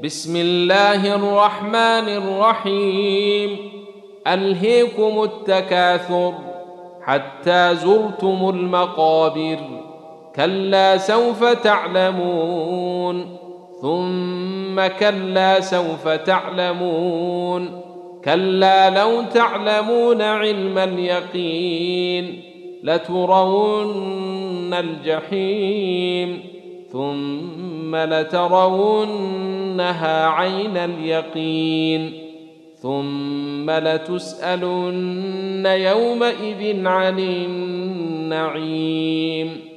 بسم الله الرحمن الرحيم. ألهيكم التكاثر حتى زرتم المقابر، كلا سوف تعلمون ثم كلا سوف تعلمون، كلا لو تعلمون علم اليقين لترون الجحيم ثم لترونها عين اليقين ثم لتسألن يومئذ عن النعيم.